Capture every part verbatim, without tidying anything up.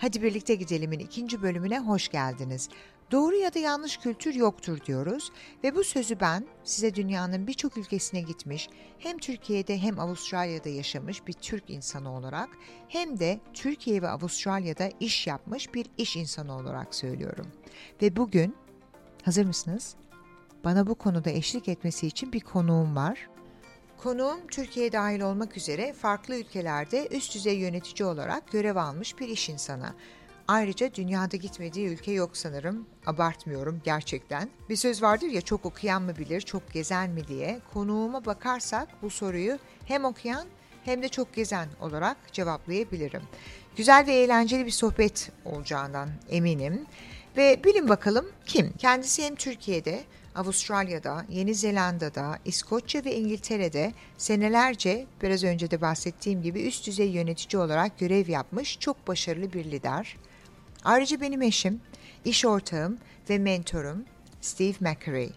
Hadi birlikte gidelim'in ikinci bölümüne hoş geldiniz. Doğru ya da yanlış kültür yoktur diyoruz ve bu sözü ben size dünyanın birçok ülkesine gitmiş, hem Türkiye'de hem Avustralya'da yaşamış bir Türk insanı olarak hem de Türkiye ve Avustralya'da iş yapmış bir iş insanı olarak söylüyorum. Ve bugün, hazır mısınız? Bana bu konuda eşlik etmesi için bir konuğum var. Konuğum Türkiye dahil olmak üzere farklı ülkelerde üst düzey yönetici olarak görev almış bir iş insanı. Ayrıca dünyada gitmediği ülke yok sanırım. Abartmıyorum gerçekten. Bir söz vardır ya, çok okuyan mı bilir, çok gezen mi diye. Konuğuma bakarsak bu soruyu hem okuyan hem de çok gezen olarak cevaplayabilirim. Güzel ve eğlenceli bir sohbet olacağından eminim. Ve bilin bakalım kim? Kendisi hem Türkiye'de, Avustralya'da, Yeni Zelanda'da, İskoçya ve İngiltere'de senelerce biraz önce de bahsettiğim gibi üst düzey yönetici olarak görev yapmış çok başarılı bir lider. Ayrıca benim eşim, iş ortağım ve mentorum Steve McCurry.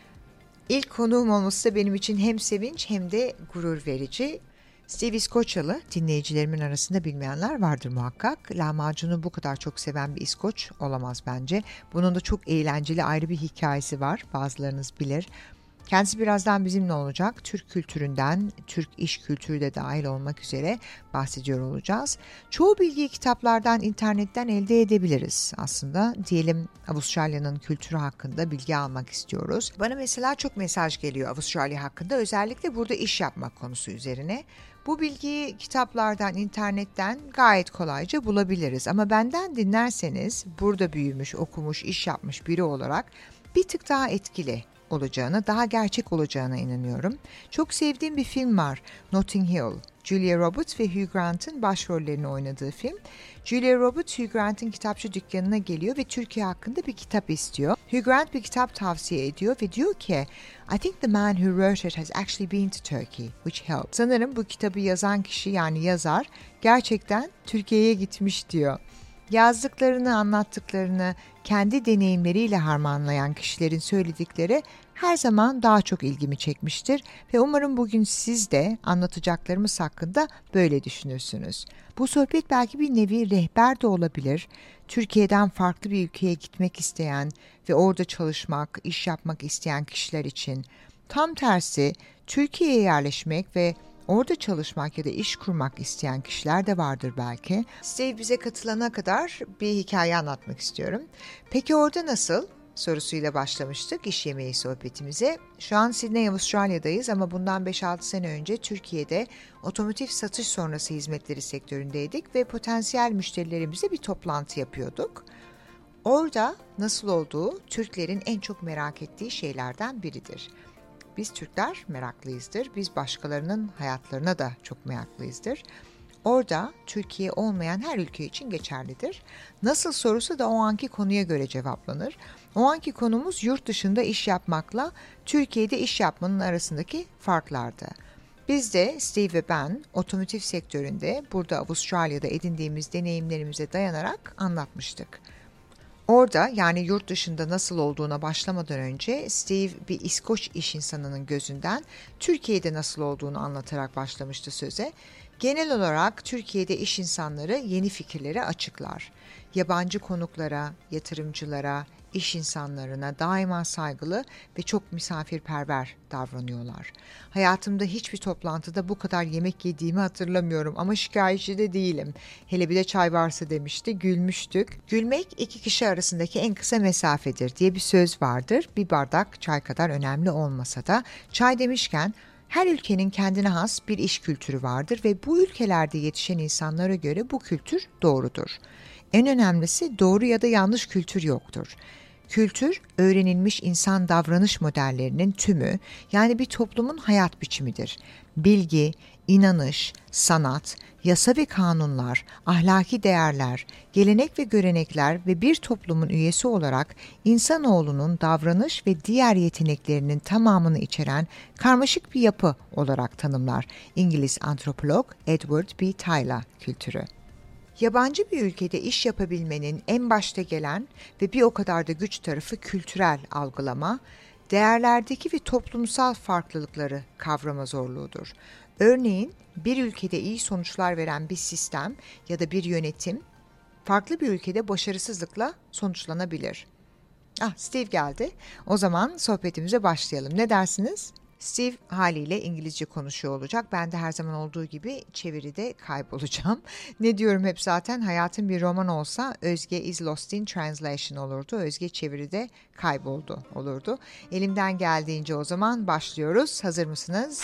İlk konuğum olması da benim için hem sevinç hem de gurur verici. Steve İskoçyalı, dinleyicilerimin arasında bilmeyenler vardır muhakkak. Lahmacunu bu kadar çok seven bir İskoç olamaz bence. Bunun da çok eğlenceli ayrı bir hikayesi var, bazılarınız bilir. Kendisi birazdan bizimle olacak. Türk kültüründen, Türk iş kültürü de dahil olmak üzere bahsediyor olacağız. Çoğu bilgiyi kitaplardan, internetten elde edebiliriz aslında. Diyelim Avustralya'nın kültürü hakkında bilgi almak istiyoruz. Bana mesela çok mesaj geliyor Avustralya hakkında, özellikle burada iş yapmak konusu üzerine. Bu bilgiyi kitaplardan, internetten gayet kolayca bulabiliriz. Ama benden dinlerseniz burada büyümüş, okumuş, iş yapmış biri olarak bir tık daha etkili olacağına, daha gerçek olacağına inanıyorum. Çok sevdiğim bir film var, Notting Hill. Julia Roberts ve Hugh Grant'ın başrollerini oynadığı film. Julia Roberts, Hugh Grant'ın kitapçı dükkanına geliyor ve Türkiye hakkında bir kitap istiyor. Hugh Grant bir kitap tavsiye ediyor ve diyor ki, I think the man who wrote it has actually been to Turkey, which helped. Sanırım bu kitabı yazan kişi, yani yazar, gerçekten Türkiye'ye gitmiş diyor. Yazdıklarını, anlattıklarını kendi deneyimleriyle harmanlayan kişilerin söyledikleri her zaman daha çok ilgimi çekmiştir ve umarım bugün siz de anlatacaklarımız hakkında böyle düşünürsünüz. Bu sohbet belki bir nevi rehber de olabilir. Türkiye'den farklı bir ülkeye gitmek isteyen ve orada çalışmak, iş yapmak isteyen kişiler için. Tam tersi, Türkiye'ye yerleşmek ve orada çalışmak ya da iş kurmak isteyen kişiler de vardır belki. Steve bize katılana kadar bir hikaye anlatmak istiyorum. Peki orada nasıl? Sorusuyla başlamıştık iş yemeği sohbetimize. Şu an Sydney, Avustralya'dayız ama bundan beş altı sene önce Türkiye'de otomotiv satış sonrası hizmetleri sektöründeydik ve potansiyel müşterilerimizle bir toplantı yapıyorduk. Orada nasıl olduğu Türklerin en çok merak ettiği şeylerden biridir. Biz Türkler meraklıyızdır. Biz başkalarının hayatlarına da çok meraklıyızdır. Orada Türkiye olmayan her ülke için geçerlidir. Nasıl sorusu da o anki konuya göre cevaplanır. O anki konumuz yurt dışında iş yapmakla Türkiye'de iş yapmanın arasındaki farklardı. Biz de Steve ve ben otomotiv sektöründe burada Avustralya'da edindiğimiz deneyimlerimize dayanarak anlatmıştık. Orada, yani yurt dışında nasıl olduğuna başlamadan önce Steve bir İskoç iş insanının gözünden Türkiye'de nasıl olduğunu anlatarak başlamıştı söze. Genel olarak Türkiye'de iş insanları yeni fikirlere açıklar. Yabancı konuklara, yatırımcılara, iş insanlarına daima saygılı ve çok misafirperver davranıyorlar. Hayatımda hiçbir toplantıda bu kadar yemek yediğimi hatırlamıyorum ama şikayetçi de değilim. Hele bir de çay varsa demişti, gülmüştük. Gülmek iki kişi arasındaki en kısa mesafedir diye bir söz vardır. Bir bardak çay kadar önemli olmasa da. Çay demişken, her ülkenin kendine has bir iş kültürü vardır ve bu ülkelerde yetişen insanlara göre bu kültür doğrudur. En önemlisi, doğru ya da yanlış kültür yoktur. Kültür, öğrenilmiş insan davranış modellerinin tümü, yani bir toplumun hayat biçimidir. Bilgi, inanış, sanat, yasa ve kanunlar, ahlaki değerler, gelenek ve görenekler ve bir toplumun üyesi olarak insanoğlunun davranış ve diğer yeteneklerinin tamamını içeren karmaşık bir yapı olarak tanımlar İngiliz antropolog Edward B. Tylor kültürü. Yabancı bir ülkede iş yapabilmenin en başta gelen ve bir o kadar da güç tarafı kültürel algılama, değerlerdeki ve toplumsal farklılıkları kavrama zorluğudur. Örneğin bir ülkede iyi sonuçlar veren bir sistem ya da bir yönetim farklı bir ülkede başarısızlıkla sonuçlanabilir. Ah, Steve geldi. O zaman sohbetimize başlayalım. Ne dersiniz? Steve haliyle İngilizce konuşuyor olacak. Ben de her zaman olduğu gibi çeviride kaybolacağım. Ne diyorum hep zaten, hayatım bir roman olsa Özge is lost in translation olurdu. Özge çeviride kayboldu olurdu. Elimden geldiğince o zaman başlıyoruz. Hazır mısınız?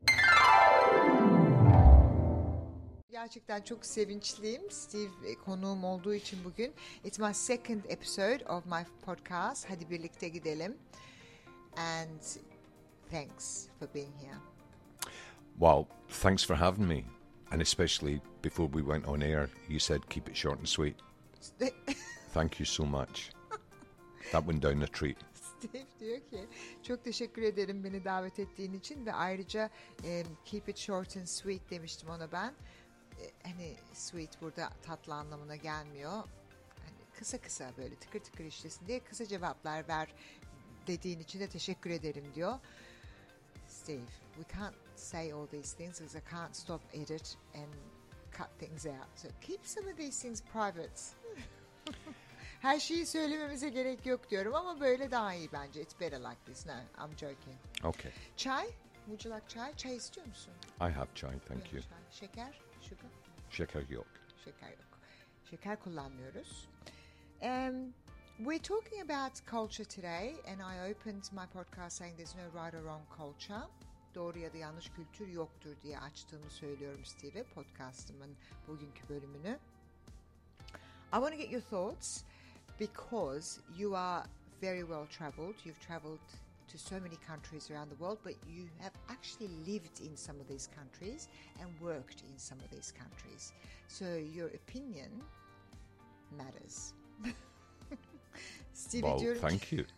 Gerçekten çok sevinçliyim. Steve konuğum olduğu için bugün. It's my second episode of my podcast. Hadi birlikte gidelim. And thanks for being here. Well, thanks for having me. And especially before we went on air, you said keep it short and sweet. Thank you so much. That went down a treat. Steve diyor ki çok teşekkür ederim beni davet ettiğin için ve ayrıca e, keep it short and sweet demiştim ona ben. E, hani sweet burada tatlı anlamına gelmiyor. Hani kısa kısa böyle tıkır tıkır işlesin diye kısa cevaplar ver dediğin için de teşekkür ederim diyor. Steve, we can't say all these things because I can't stop edit and cut things out. So keep some of these things private. Her şeyi söylememize gerek yok diyorum ama böyle daha iyi bence. It's better like this. No, I'm joking. Okay. Çay? Would you like çay? Çay istiyor musun? I have chai, thank you. Çay. Şeker? Sugar? Şeker yok. Şeker yok. Şeker kullanmıyoruz. Um, we're talking about culture today and I opened my podcast saying there's no right or wrong culture. Doğru ya da yanlış kültür yoktur diye açtığımı söylüyorum Steve, podcastımın bugünkü bölümünü. I want to get your thoughts because you are very well traveled. You've traveled to so many countries around the world, but you have actually lived in some of these countries and worked in some of these countries. So your opinion matters. Steve, well, thank you.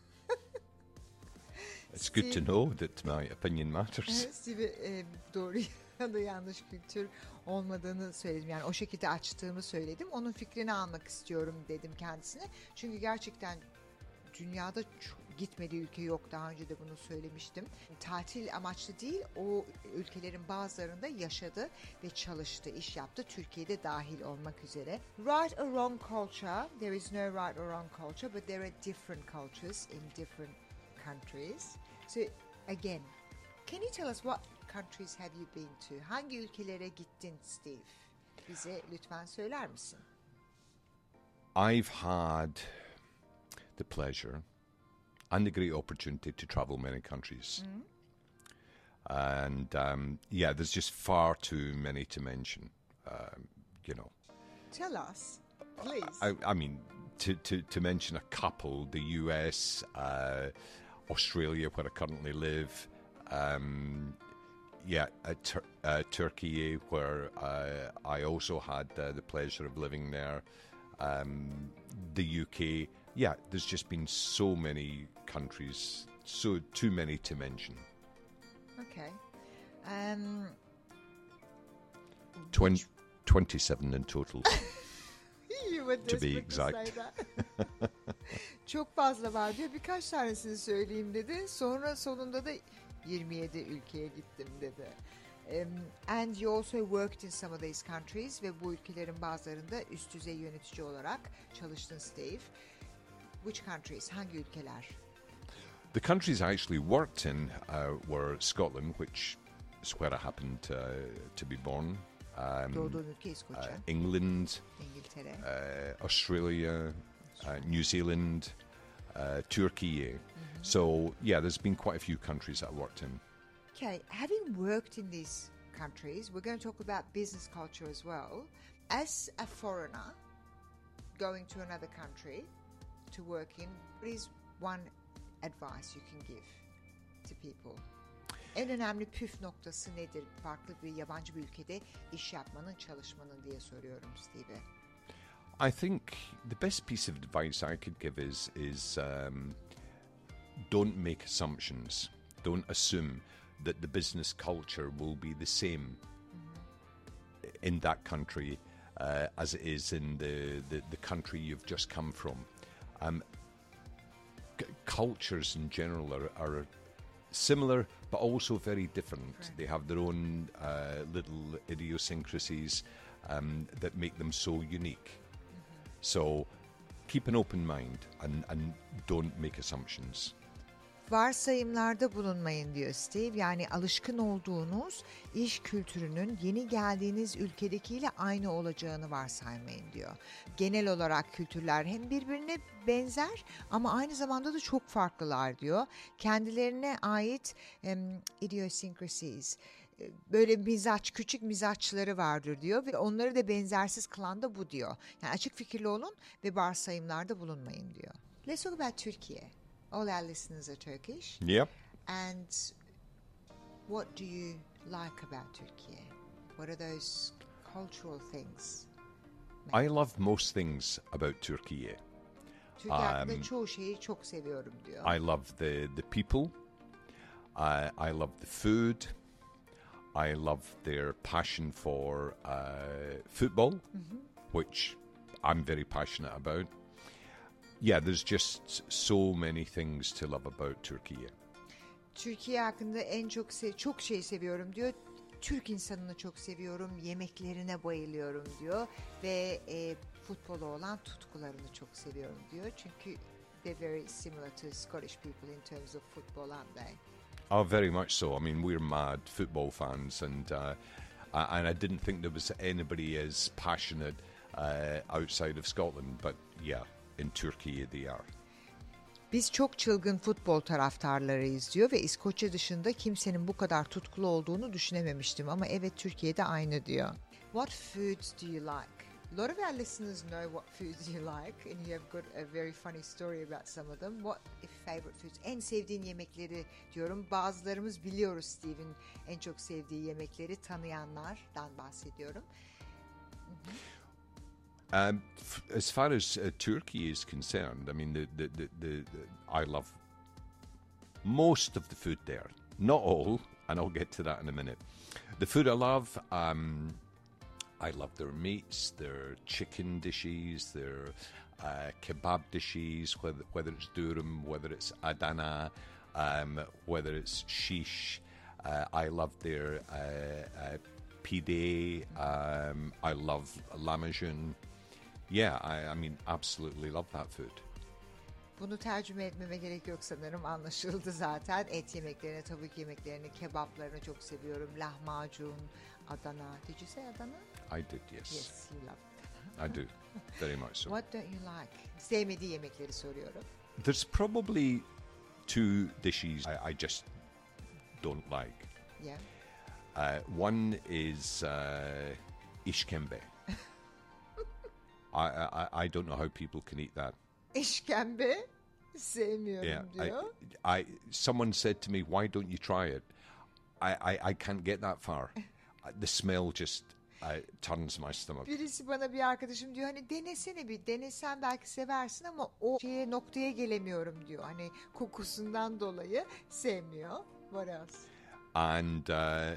It's good to know that my opinion matters. Steve, e, doğru ya da yanlış kültür olmadığını söyledim. Yani o şekilde açtığımı söyledim. Onun fikrini almak istiyorum dedim kendisine. Çünkü gerçekten dünyada çok gitmediği ülke yok. Daha önce de bunu söylemiştim. Tatil amaçlı değil, o ülkelerin bazılarında yaşadı ve çalıştı, iş yaptı. Türkiye'de dahil olmak üzere. Right or wrong culture, there is no right or wrong culture, but there are different cultures in different countries. So again, can you tell us what countries have you been to? Hangi ülkelere gittin Steve? Bize lütfen söyler misin? I've had the pleasure and the great opportunity to travel many countries. Mm-hmm. And um, yeah, there's just far too many to mention, um, you know. Tell us, please. I, I mean, to, to, to mention a couple, the U S, uh, Australia, where I currently live, um, yeah, uh, Tur- uh, Turkey, where uh, I also had uh, the pleasure of living there, um, the U K. Yeah, there's just been so many countries, so too many to mention. Okay. Um, Twen- twenty-seven in total. You were to be desperate exact. to say that. Çok fazla var diyor. Birkaç tanesini söyleyeyim dedi. Sonra sonunda da yirmi yedi ülkeye gittim dedi. Um, and you also worked in some of these countries ve bu ülkelerin bazılarında üst düzey yönetici olarak çalıştın Steve. Which countries? Hangi ülkeler? The countries I actually worked in uh, were Scotland, which is where I happened uh, to be born. Um, Doğduğun ülke İskoçya. uh, England, İngiltere. uh, Australia, uh, New Zealand, uh, Turkey. Mm-hmm. So yeah, there's been quite a few countries that I worked in. Okay, having worked in these countries, we're going to talk about business culture as well. As a foreigner going to another country to work in, what is one advice you can give to people? En önemli püf noktası nedir? Farklı bir yabancı bir ülkede iş yapmanın, çalışmanın diye soruyorum Steve'e. I think the best piece of advice I could give is is um, don't make assumptions. Don't assume that the business culture will be the same mm-hmm. in that country uh, as it is in the, the, the country you've just come from. Um, c- cultures in general are, are similar but also very different. Right. They have their own uh, little idiosyncrasies um, that make them so unique. So keep an open mind and, and don't make assumptions. Varsayımlarda bulunmayın diyor Steve. Yani alışkın olduğunuz iş kültürünün yeni geldiğiniz ülkedekiyle aynı olacağını varsaymayın diyor. Genel olarak kültürler hem birbirine benzer ama aynı zamanda da çok farklılar diyor. Kendilerine ait um, idiosyncrasies, böyle mizaç, küçük mizaçları vardır diyor ve onları da benzersiz kılan da bu diyor. Yani açık fikirli olun ve varsayımlarda bulunmayın diyor. Let's talk about Türkiye. All our listeners are Turkish. Yep. And what do you like about Turkey? What are those cultural things? I love most things about Turkey. Türkiye hakkında Um, çoğu şeyi çok seviyorum diyor. I love the, the people. I, I love the food. I love their passion for uh, football, which I'm very passionate about. Yeah, there's just so many things to love about Turkey. Türkiye hakkında en çok se- çok şey seviyorum diyor. Türk insanını çok seviyorum, yemeklerine bayılıyorum diyor ve e, futbola olan tutkularını çok seviyorum diyor. Çünkü they're very similar to Scottish people in terms of football, aren't they? Oh, very much so. I mean, we're mad football fans, and uh, and I didn't think there was anybody as passionate uh, outside of Scotland, but yeah, in Turkey they are. Biz çok çılgın futbol taraftarlarıyız diyor ve İskoçya dışında kimsenin bu kadar tutkulu olduğunu düşünememiştim ama evet Türkiye'de aynı diyor. What foods do you like? A lot of our listeners know what foods you like and you have got a very funny story about some of them. What favorite foods? En sevdiğin yemekleri diyorum. Bazılarımız biliyoruz Steve'in en çok sevdiği yemekleri, tanıyanlardan bahsediyorum. Um, f- as far as uh, Turkey is concerned, I mean, the, the, the, the, the I love most of the food there. Not all, and I'll get to that in a minute. The food I love, um, I love their meats, their chicken dishes, their uh, kebab dishes, whether, whether it's durum, whether it's Adana, um, whether it's shish. Uh, I love their uh, uh, pide. Um, I love lahmacun. Yeah, I, I mean, absolutely love that food. Bunu tercüme etmeme gerek yok sanırım, anlaşıldı zaten. Et yemeklerini, tavuk yemeklerini, kebaplarını çok seviyorum. Lahmacun, Adana. Did you say Adana? I did, yes. Yes, you love. I do, very much so. What don't you like? Sevmediği yemekleri soruyorum. There's probably two dishes I, I just don't like. Yeah. Uh, one is uh, işkembe. I, I I don't know how people can eat that. İşkembe sevmiyorum Yeah, diyor. I, I someone said to me, "Why don't you try it?" I, I, I can't get that far. The smell just uh, turns my stomach. Birisi bana, bir arkadaşım diyor, hani denesene, bir denesen belki seversin ama o şeye, noktaya gelemiyorum diyor. Hani kokusundan dolayı sevmiyor. What else? And uh,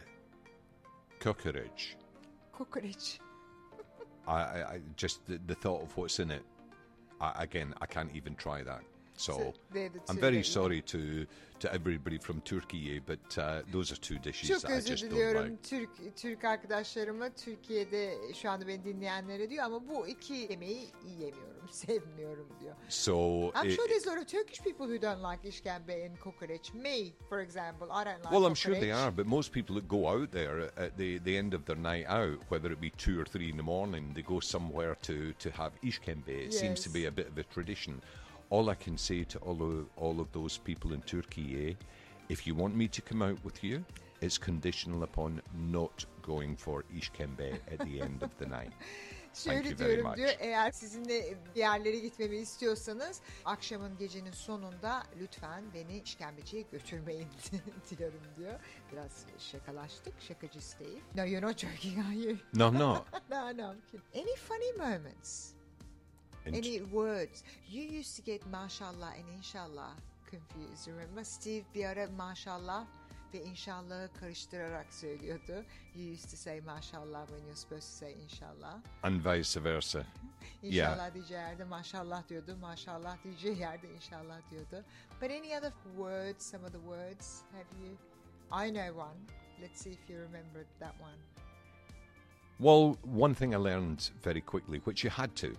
kokoreç. Kokoreç. I, I, I just the, the thought of what's in it. I, again, I can't even try that. So, So they're the I'm two very that you- sorry to to everybody from Turkey, but uh, those are two dishes Çok that I özür just don't diliyorum like. Türk Türk arkadaşlarıma, Türkiye'de şu anda beni dinleyenlere diyor ama bu iki yemeği yiyemiyorum, sevmiyorum diyor. So, I'm it- sure there's a lot of Turkish people who don't like işkembe and kokoreç. Me, for example, I don't like well, I'm sure they kokoreç. are, but most people that go out there at the, the end of their night out, whether it be two or three in the morning, they go somewhere to, to have ishkembe. It seems to Yes. be a bit of a tradition. All I can say to all of, all of those people in Turkey, eh, if you want me to come out with you, it's conditional upon not going for ishkembe at the end of the night. Thank Şöyle you very diyorum much. diyor, eğer sizinle bir yerlere gitmemi istiyorsanız akşamın, gecenin sonunda lütfen beni işkembeciye götürmeyin diyorum diyor. Biraz şakalaştık, şakacı Steve. No, you're not joking, are you? No, no. No, no, I'm kidding. Any funny moments? In Any words? You used to get maşallah and inshallah confused, remember? Steve bir ara maşallah ve inşallahı karıştırarak söylüyordu. You used to say maşallah when you're supposed to say inşallah. and vice versa. İnşallah diyeceği yerde maşallah diyordu. Maşallah diyeceği yerde inşallah diyordu. But any other words, some of the words, have you? I know one. Let's see if you remember that one. Well, one thing I learned very quickly, which you had to,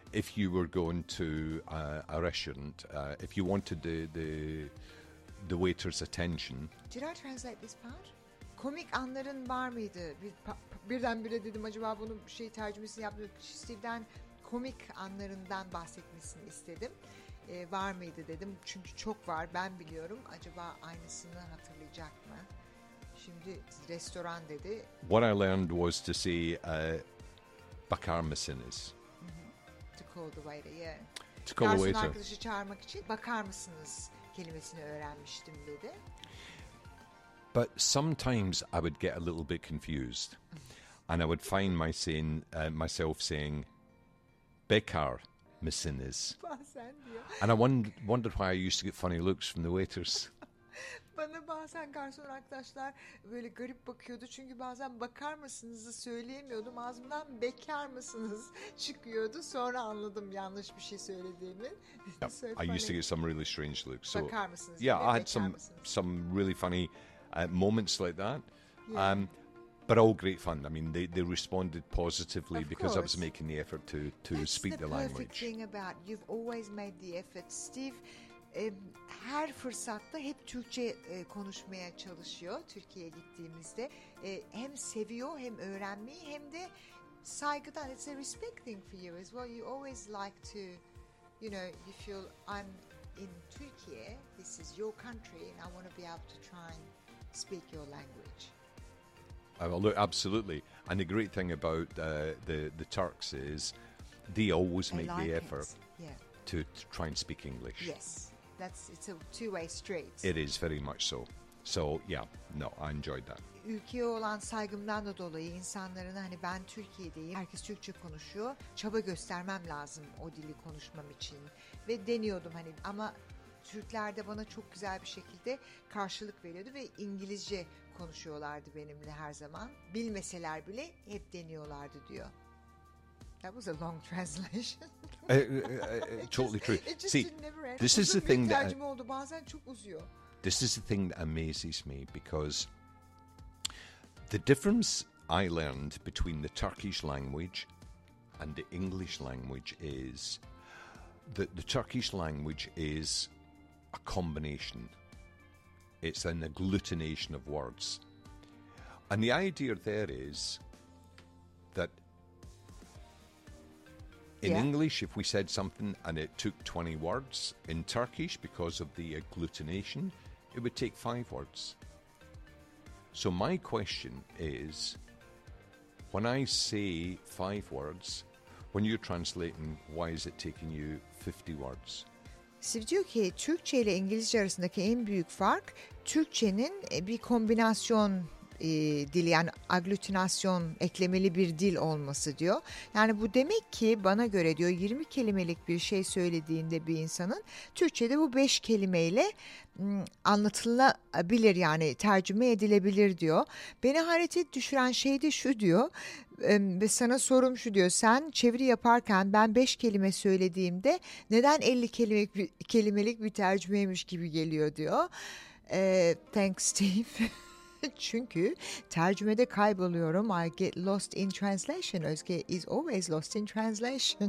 if you were going to uh, a restaurant, uh, if you wanted the, the the waiter's attention. Did I translate this part? Komik anların var mıydı? Bir, pa, birdenbire dedim acaba bunu şey tercümesini yaptım. Steve'den komik anlarından bahsetmesini istedim. Ee, var mıydı dedim. Çünkü çok var, ben biliyorum. Acaba aynısını hatırlayacak mı? Şimdi restoran dedi. What I learned was to say uh, bakar mısınız? To call the waiter, yeah. To call the Garson waiter. arkadaşı çağırmak için bakar mısınız kelimesini öğrenmiştim dedi. But sometimes I would get a little bit confused, and I would find my saying, uh, myself saying, "Bekar mısınız?" Bazen diyor. And I wonder, wondered why I used to get funny looks from the waiters. Bana bazen garson arkadaşlar böyle garip bakıyordu. Çünkü bazen bakar mısınızı söyleyemiyordum. Ağzımdan bekar mısınız çıkıyordu. Sonra anladım yanlış bir şey söylediğimi. Yep, So I funny. used to get some really strange looks. So Bakar mısınız? yeah, Bir de I had bekar some mısınız? some really funny uh, moments like that. Yeah. Um, but all great fun. I mean, they, they responded positively Of because I was course. making the effort to, to That's speak the the perfect language. thing about you've always made the effort. Steve e, her fırsatta hep Türkçe e, konuşmaya çalışıyor Türkiye'ye gittiğimizde. E, hem seviyor hem öğrenmeyi hem de saygıdan. It's a respect thing for you as well. You always like to, you know, you feel I'm in Turkey, this is your country and I want to be able to try and speak your language. Uh, well, look, absolutely. And the great thing about uh, the the Turks is they always They make like the it. effort Yeah. to, to try and speak English. Yes. That's it's a two-way street. It is very much so. So yeah, no, I enjoyed that. Ülkeye olan saygımdan da dolayı insanların hani ben Türkiye'deyim, herkes Türkçe konuşuyor, çaba göstermem lazım o dili konuşmam için ve deniyordum hani ama Türkler de bana çok güzel bir şekilde karşılık veriyordu ve İngilizce konuşuyorlardı benimle her zaman. Bilmeseler bile hep deniyorlardı diyor. That was a long translation. Uh, uh, uh, totally true. It just See, didn't never end. this is Uzun the bir thing that tercüme oldu. Bazen çok uzuyor. this is the thing that amazes me because the difference I learned between the Turkish language and the English language is that the Turkish language is a combination. It's an agglutination of words. And the idea there is that in Yeah. English, if we said something and it took twenty words, in Turkish, because of the agglutination, it would take five words. So my question is, when I say five words, when you're translating, why is it taking you fifty words? Steve diyor ki Türkçe ile İngilizce arasındaki en büyük fark Türkçenin e, bir kombinasyon e, dili yani aglutinasyon eklemeli bir dil olması diyor. Yani bu demek ki bana göre diyor yirmi kelimelik bir şey söylediğinde bir insanın Türkçe'de bu beş kelimeyle m, anlatılabilir yani tercüme edilebilir diyor. Beni hayrete düşüren şey de şu diyor e, ve sana sorum şu diyor sen çeviri yaparken ben beş kelime söylediğimde neden elli kelimelik bir, kelimelik bir tercümeymiş gibi geliyor diyor. E, thanks Steve. Çünkü tercümede kayboluyorum. I get lost in translation. Özge is always lost in translation.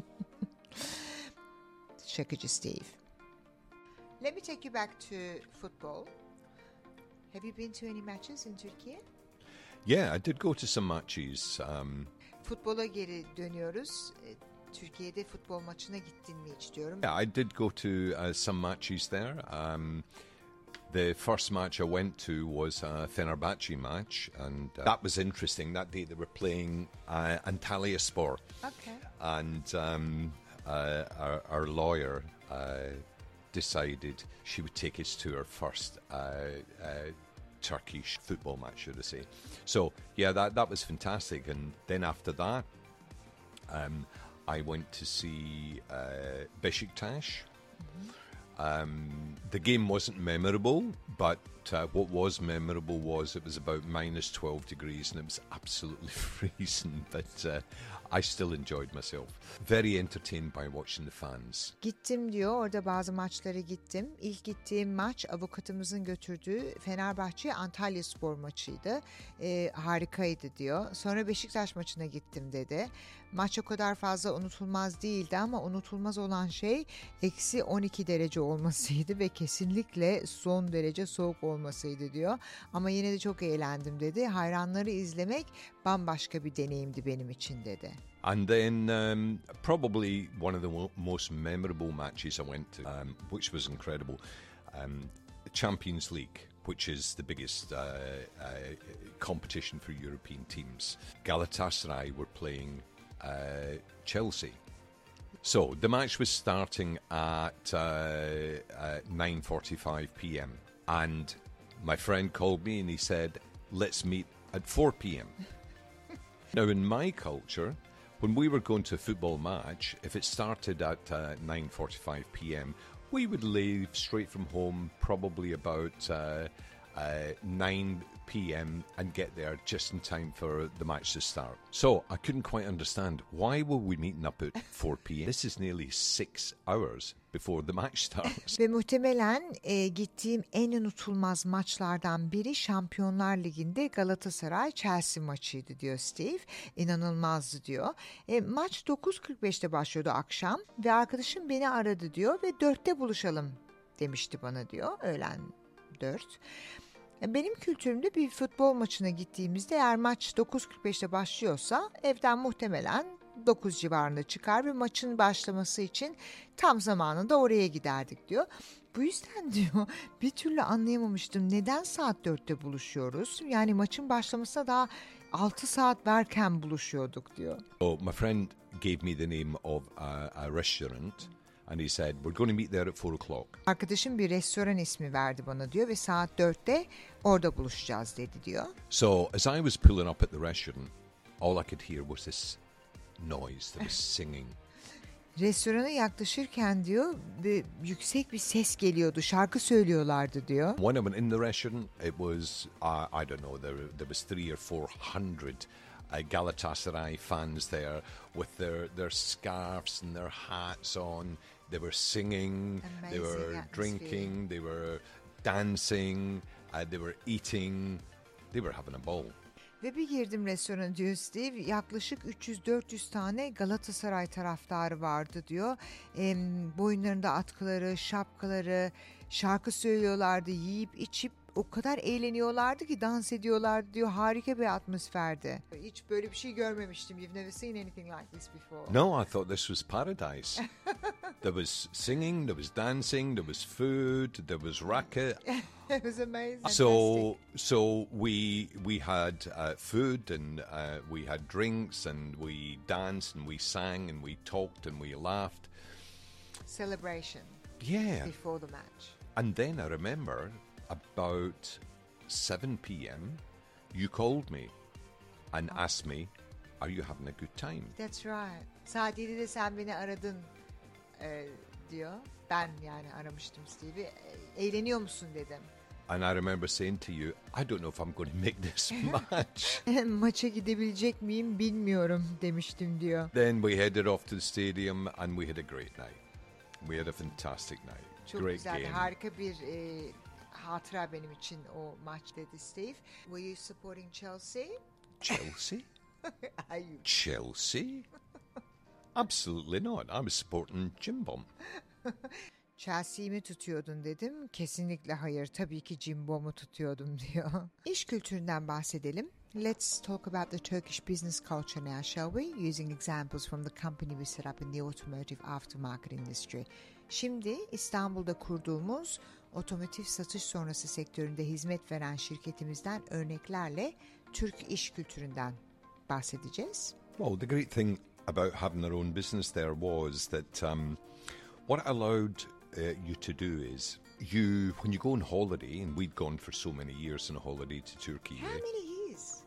Şakacı Steve. Let me take you back to football. Have you been to any matches in Turkey? Yeah, I did go to some matches. Um, Futbola geri dönüyoruz. E, Türkiye'de futbol maçına gittin mi hiç diyorum. yeah, I did go to uh, some matches there. Um, The first match I went to was a Fenerbahce match, and uh, that was interesting. That day they were playing uh, Antalyaspor, Okay. and um, uh, our, our lawyer uh, decided she would take us to her first uh, uh, Turkish football match, should I say. So, yeah, that, that was fantastic. And then after that, um, I went to see uh, Beşiktaş. Um, the game wasn't memorable, but uh, what was memorable was it was about minus twelve degrees and it was absolutely freezing, but uh, I still enjoyed myself. Very entertained by watching the fans. Gittim diyor. Orada bazı maçlara gittim. İlk gittiğim maç avukatımızın götürdüğü Fenerbahçe Antalyaspor maçıydı. Ee, harikaydı diyor. Sonra Beşiktaş maçına gittim dedi. Maç o kadar fazla unutulmaz değildi ama unutulmaz olan şey eksi on iki derece olmasıydı ve kesinlikle son derece soğuk olmasıydı diyor. Ama yine de çok eğlendim dedi. Hayranları izlemek bambaşka bir deneyimdi benim için dedi. And then um, probably one of the mo- most memorable matches I went to, um, which was incredible, um, Champions League, which is the biggest uh, uh, competition for European teams. Galatasaray were playing uh, Chelsea. So the match was starting at uh, uh, nine forty-five p.m. and my friend called me and he said, let's meet at four p.m. Now in my culture, when we were going to a football match, if it started at uh, nine forty-five p.m, we would leave straight from home probably about uh, uh, nine p.m. and get there just in time for the match to start. So I couldn't quite understand, why were we meeting up at four p.m? This is nearly six hours before the match starts. Ve muhtemelen e, gittiğim en unutulmaz maçlardan biri Şampiyonlar Ligi'nde Galatasaray-Chelsea maçıydı diyor Steve. İnanılmazdı diyor. E, maç dokuz kırk beşte başlıyordu akşam ve arkadaşım beni aradı diyor ve dörtte buluşalım demişti bana diyor. Öğlen dört. Benim kültürümde bir futbol maçına gittiğimizde eğer maç dokuz kırk beşte başlıyorsa evden muhtemelen dokuz civarında çıkar ve maçın başlaması için tam zamanında oraya giderdik diyor. Bu yüzden diyor bir türlü anlayamamıştım neden saat dörtte buluşuyoruz? Yani maçın başlamasına daha altı saat varken buluşuyorduk diyor. So my friend gave me the name of a, a restaurant. And he said, we're going to meet there at four o'clock. Arkadaşım bir restoran ismi verdi bana diyor ve saat dörtte orada buluşacağız dedi diyor. So as I was pulling up at the restaurant, all I could hear was this noise. There was singing. Restorana yaklaşırken diyor bir yüksek bir ses geliyordu, şarkı söylüyorlardı diyor. When I went in the restaurant, it was, uh, I don't know, there, there was three or four hundred uh, Galatasaray fans there with their, their scarves and their hats on. They were singing, Amazing they were atmosphere. drinking, they were dancing, uh, they were eating, they were having a ball. Ve bir girdim restorana diyor Steve, yaklaşık üç yüz dört yüz tane Galatasaray taraftarı vardı diyor. E, boyunlarında atkıları, şapkaları, şarkı söylüyorlardı, yiyip içip o kadar eğleniyorlardı ki dans ediyorlardı diyor. Harika bir atmosferdi. Hiç böyle bir şey görmemiştim. You've never seen anything like this before. No, I thought this was paradise. There was singing, there was dancing, there was food, there was racket. It was amazing. So, Fantastic. so we we had uh, food and uh, we had drinks and we danced and we sang and we talked and we laughed. Celebration Yeah. before the match. And then I remember about seven p.m. you called me and asked me, "Are you having a good time?" That's right. Saat yedide sen beni aradın e, diyor. Ben yani aramıştım Steve'i. E, Eğleniyor musun dedim. And I remember saying to you, "I don't know if I'm going to make this match." Maça gidebilecek miyim bilmiyorum demiştim diyor. Then we headed off to the stadium and we had a great night. We had a fantastic night. Çok Great güzeldi. game. Harika bir e, hatıra benim için o maç dedi Steve. Were you supporting Chelsea? Chelsea? Are you? Chelsea? Absolutely not. I was supporting Jim Bomb. Chelsea'yi mi tutuyordun dedim. Kesinlikle hayır. Tabii ki Cimbom'u tutuyordum diyor. İş kültüründen bahsedelim. Let's talk about the Turkish business culture now, shall we? Using examples from the company we set up in the automotive aftermarket industry. Şimdi İstanbul'da kurduğumuz otomotiv satış sonrası sektöründe hizmet veren şirketimizden örneklerle Türk iş kültüründen bahsedeceğiz. Well, the great thing about having our own business there was that um, what it allowed uh, you to do is you, when you go on holiday, and we'd gone for so many years on a holiday to Turkey, How many years?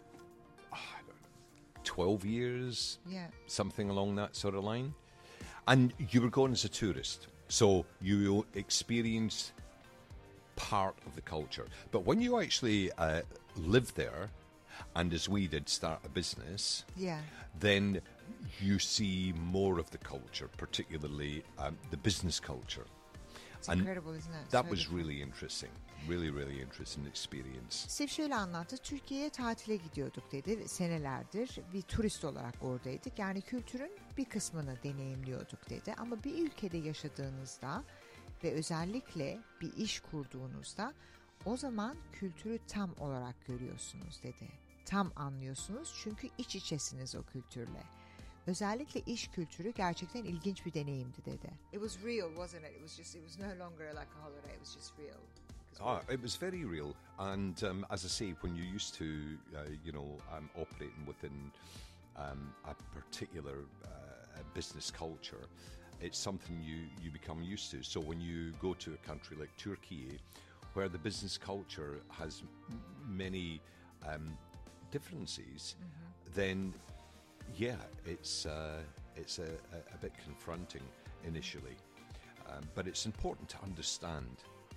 twelve years, Yeah. something along that sort of line. And you were going as a tourist, so you experience part of the culture. But when you actually uh, live there, and as we did start a business, Yeah. then you see more of the culture, particularly um, the business culture. It's And incredible, isn't it? that So was different. really interesting. Really, really interesting experience. Steve şöyle anlattı. Türkiye'ye tatile gidiyorduk dedi. Senelerdir bir turist olarak oradaydık. Yani kültürün bir kısmını deneyimliyorduk dedi. Ama bir ülkede yaşadığınızda ve özellikle bir iş kurduğunuzda o zaman kültürü tam olarak görüyorsunuz dedi. Tam anlıyorsunuz çünkü iç içesiniz o kültürle. Özellikle iş kültürü gerçekten ilginç bir deneyimdi dedi. It was real, wasn't it? It was just, it was no longer like a holiday. It was just real. Ah, it was very real, and um, as I say, when you're used to, uh, you know, um, operating within um, a particular uh, business culture, it's something you, you become used to. So when you go to a country like Turkey, where the business culture has m- many um, differences, mm-hmm. then yeah, it's uh, it's a, a, a bit confronting initially, um, but it's important to understand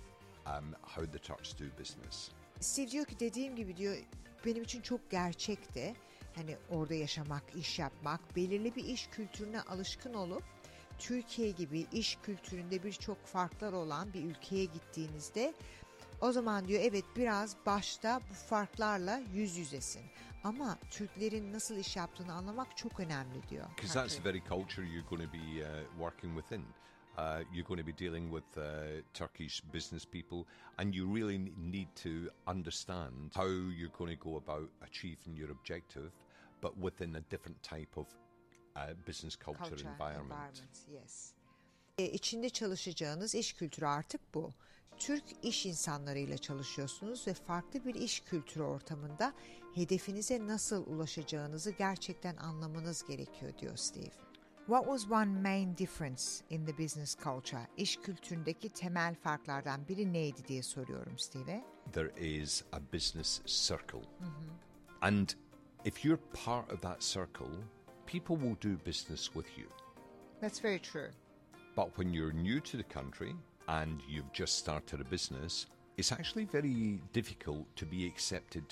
um, how the Turks do business. Steve diyor ki dediğim gibi diyor benim için çok gerçekti. Hani orada yaşamak, iş yapmak, belirli bir iş kültürüne alışkın olup Türkiye gibi iş kültüründe birçok farklar olan bir ülkeye gittiğinizde o zaman diyor evet biraz başta bu farklarla yüz yüzesin. Ama Türklerin nasıl iş yaptığını anlamak çok önemli diyor. Because that's the very culture you're going to be uh, working within. Uh, you're going to be dealing with uh, Turkish business people, and you really need to understand how you're going to go about achieving your objective, but within a different type of uh, business culture, Culture, environment. environment, yes. E, içinde çalışacağınız iş kültürü artık bu. Türk iş insanlarıyla çalışıyorsunuz ve farklı bir iş kültürü ortamında hedefinize nasıl ulaşacağınızı gerçekten anlamanız gerekiyor diyor Steve. What was one main difference in the business culture? İş kültüründeki temel farklardan biri neydi diye soruyorum Steve'e. There is a business circle. Mm-hmm. And if you're part of that circle, people will do business with you. That's very true. But when you're new to the country and you've just started a business, it's actually very difficult to be accepted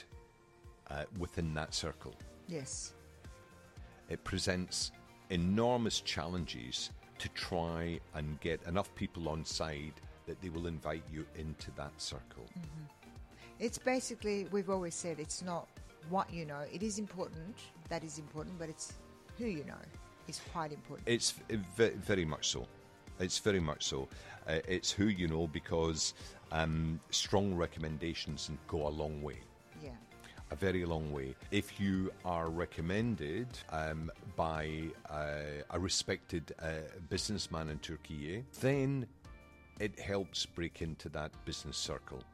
uh, within that circle. Yes. It presents enormous challenges to try and get enough people on side that they will invite you into that circle. Mm-hmm. It's basically, we've always said, it's not what you know. It is important, that is important, but it's who you know is quite important. It's v- very much so. It's very much so. Uh, it's who you know, because um, strong recommendations go a long way. Yeah. A very long way. If you are recommended um, by uh, a respected uh, businessman in Turkey, then it helps break into that business circle.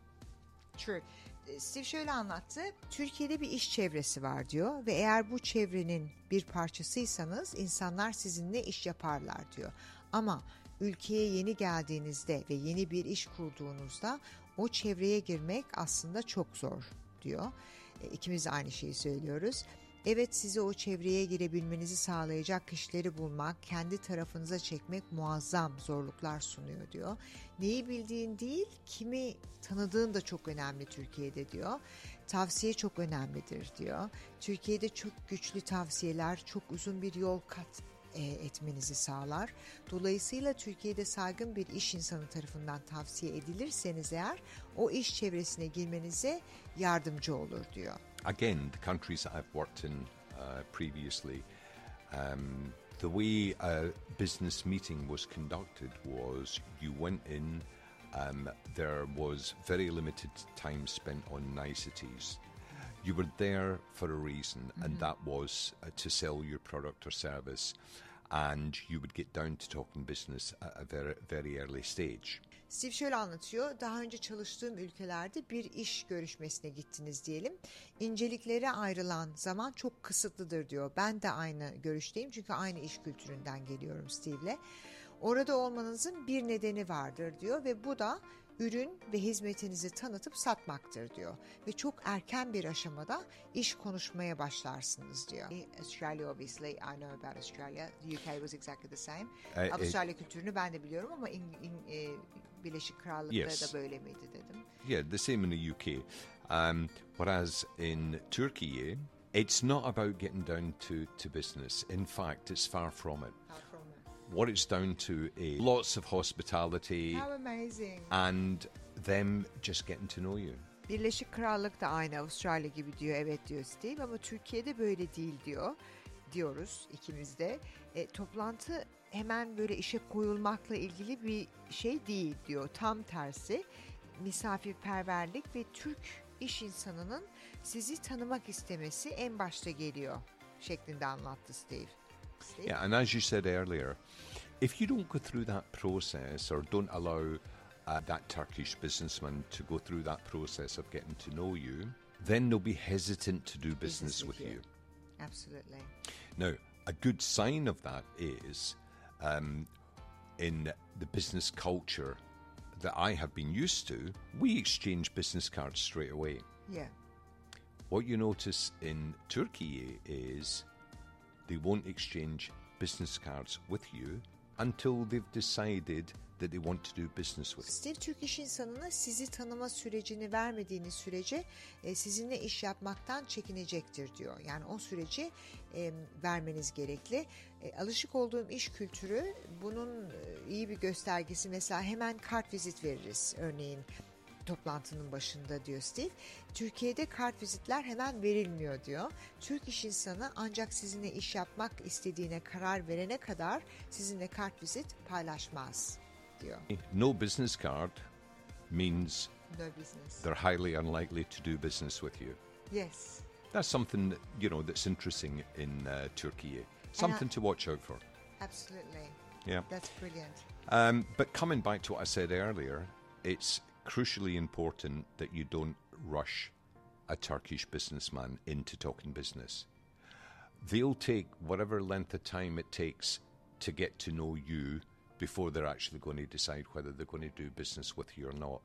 True. Steve şöyle anlattı. Türkiye'de bir iş çevresi var diyor ve eğer bu çevrenin bir parçasıysanız insanlar sizinle iş yaparlar diyor. Ama ülkeye yeni geldiğinizde ve yeni bir iş kurduğunuzda o çevreye girmek aslında çok zor diyor. İkimiz de aynı şeyi söylüyoruz. Evet, sizi o çevreye girebilmenizi sağlayacak kişileri bulmak, kendi tarafınıza çekmek muazzam zorluklar sunuyor diyor. Neyi bildiğin değil, kimi tanıdığın da çok önemli Türkiye'de diyor. Tavsiye çok önemlidir diyor. Türkiye'de çok güçlü tavsiyeler, çok uzun bir yol kat etmenizi sağlar. Dolayısıyla Türkiye'de saygın bir iş insanı tarafından tavsiye edilirseniz eğer o iş çevresine girmenize yardımcı olur diyor. Again, the countries that I've worked in uh, previously, um, the way a business meeting was conducted was you went in, um, there was very limited time spent on niceties. You were there for a reason, mm-hmm. and that was uh, to sell your product or service, and you would get down to talking business at a very, very early stage. Steve şöyle anlatıyor. Daha önce çalıştığım ülkelerde bir iş görüşmesine gittiniz diyelim. İnceliklere ayrılan zaman çok kısıtlıdır diyor. Ben de aynı görüşteyim çünkü aynı iş kültüründen geliyorum Steve'le. Orada olmanızın bir nedeni vardır diyor ve bu da ürün ve hizmetinizi tanıtıp satmaktır diyor. Ve çok erken bir aşamada iş konuşmaya başlarsınız diyor. Australia, obviously, I know about Australia. The U K was exactly the same. E, Avustralya e, kültürünü ben de biliyorum ama in, in, e, Birleşik Krallık'ta yes. da böyle miydi dedim. Yeah, the same in the U K. Um, whereas in Turkey, it's not about getting down to, to business. In fact, it's far from it. Far from it. what it's down to is lots of hospitality How amazing. and them just getting to know you. Birleşik Krallık da aynı Avustralya gibi diyor. Evet diyor Steve ama Türkiye'de böyle değil diyor. Diyoruz ikimiz de. E, toplantı hemen böyle işe koyulmakla ilgili bir şey değil diyor. Tam tersi. Misafirperverlik ve Türk iş insanının sizi tanımak istemesi en başta geliyor şeklinde anlattı Steve. Steve? Yeah, and as you said earlier, if you don't go through that process or don't allow uh, that Turkish businessman to go through that process of getting to know you, then they'll be hesitant to do business, with you. Absolutely. Now, a good sign of that is um, in the business culture that I have been used to, we exchange business cards straight away. Yeah. What you notice in Turkey is they won't exchange business cards with you until they've decided that they want to do business with you. Steve Türk iş insanına sizi tanıma sürecini vermediğiniz sürece e, sizinle iş yapmaktan çekinecektir diyor. Yani o süreci e, vermeniz gerekli. E, alışık olduğum iş kültürü bunun e, iyi bir göstergesi. Mesela hemen kart vizit veririz örneğin toplantının başında diyor Steve. Türkiye'de kart vizitler hemen verilmiyor diyor. Türk iş insanı ancak sizinle iş yapmak istediğine karar verene kadar sizinle kart vizit paylaşmaz diyor. No business card means No business. they're highly unlikely to do business with you. Yes. That's something that, you know, that's interesting in uh, Turkey. Something to watch out for. Absolutely. Yeah. That's brilliant. Um, but coming back to what I said earlier, it's crucially important that you don't rush a Turkish businessman into talking business. They'll take whatever length of time it takes to get to know you before they're actually going to decide whether they're going to do business with you or not.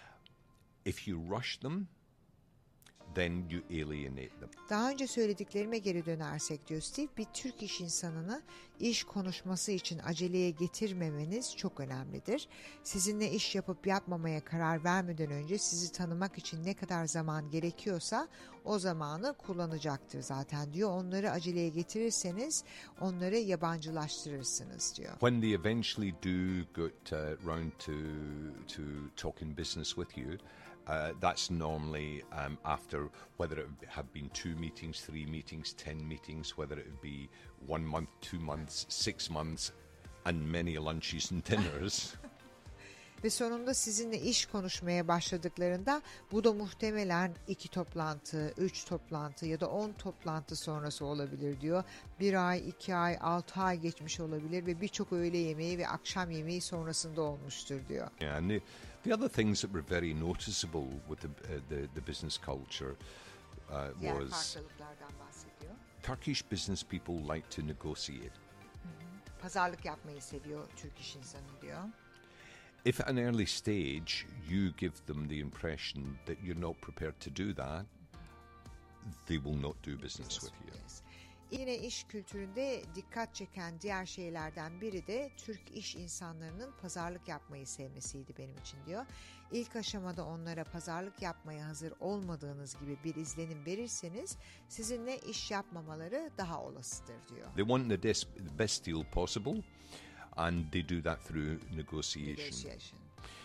If you rush them, then you alienate them. Daha önce söylediklerime geri dönersek diyor Steve, bir Türk iş insanını iş konuşması için aceleye getirmemeniz çok önemlidir. Sizinle iş yapıp yapmamaya karar vermeden önce sizi tanımak için ne kadar zaman gerekiyorsa o zamanı kullanacaktır zaten diyor. Onları aceleye getirirseniz onları yabancılaştırırsınız diyor. When they eventually do get uh, round to to talking business with you, Uh, that's normally um, after whether it have been two meetings, three meetings, ten meetings, whether it be one month, two months, six months, and many lunches and dinners. Ve sonunda sizinle iş konuşmaya başladıklarında bu da muhtemelen iki toplantı, üç toplantı ya da on toplantı sonrası olabilir diyor. Bir ay, iki ay, altı ay geçmiş olabilir ve birçok öğle yemeği ve akşam yemeği sonrasında olmuştur diyor. Yeah, and the, the other things that were very noticeable with the uh, the, the business culture uh, Diğer was farklılıklardan bahsediyor. Turkish business people like to negotiate. Pazarlık yapmayı seviyor Türk iş insanı diyor. If at an early stage you give them the impression that you're not prepared to do that, they will not do business with you. Yes. Yine iş kültüründe dikkat çeken diğer şeylerden biri de Türk iş insanlarının pazarlık yapmayı sevmesiydi benim için diyor. İlk aşamada onlara pazarlık yapmaya hazır olmadığınız gibi bir izlenim verirseniz sizinle iş yapmamaları daha olasıdır diyor. They want the, des- the best deal possible, and they do that through negotiation. Negotiation.